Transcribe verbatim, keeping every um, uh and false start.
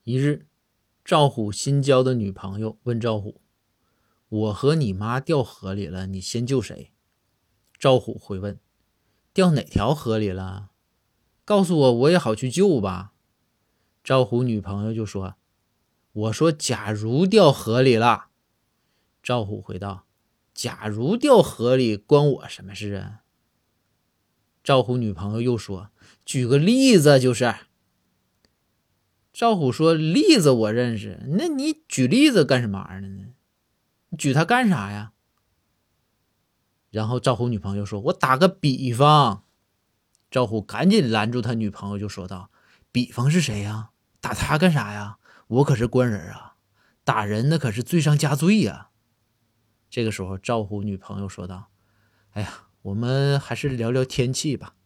一日，赵虎新交的女朋友问赵虎：我和你妈掉河里了，你先救谁？赵虎回问：掉哪条河里了？告诉我，我也好去救吧。赵虎女朋友就说：我说假如掉河里了。赵虎回道：假如掉河里关我什么事啊？赵虎女朋友又说：举个例子就是。赵虎说：例子我认识，那你举例子干什么玩意儿呢？你举它干啥呀？然后赵虎女朋友说：我打个比方。赵虎赶紧拦住他女朋友就说道：比方是谁呀？打他干啥呀？我可是官人啊，打人那可是罪上加罪呀。这个时候赵虎女朋友说道：哎呀，我们还是聊聊天气吧。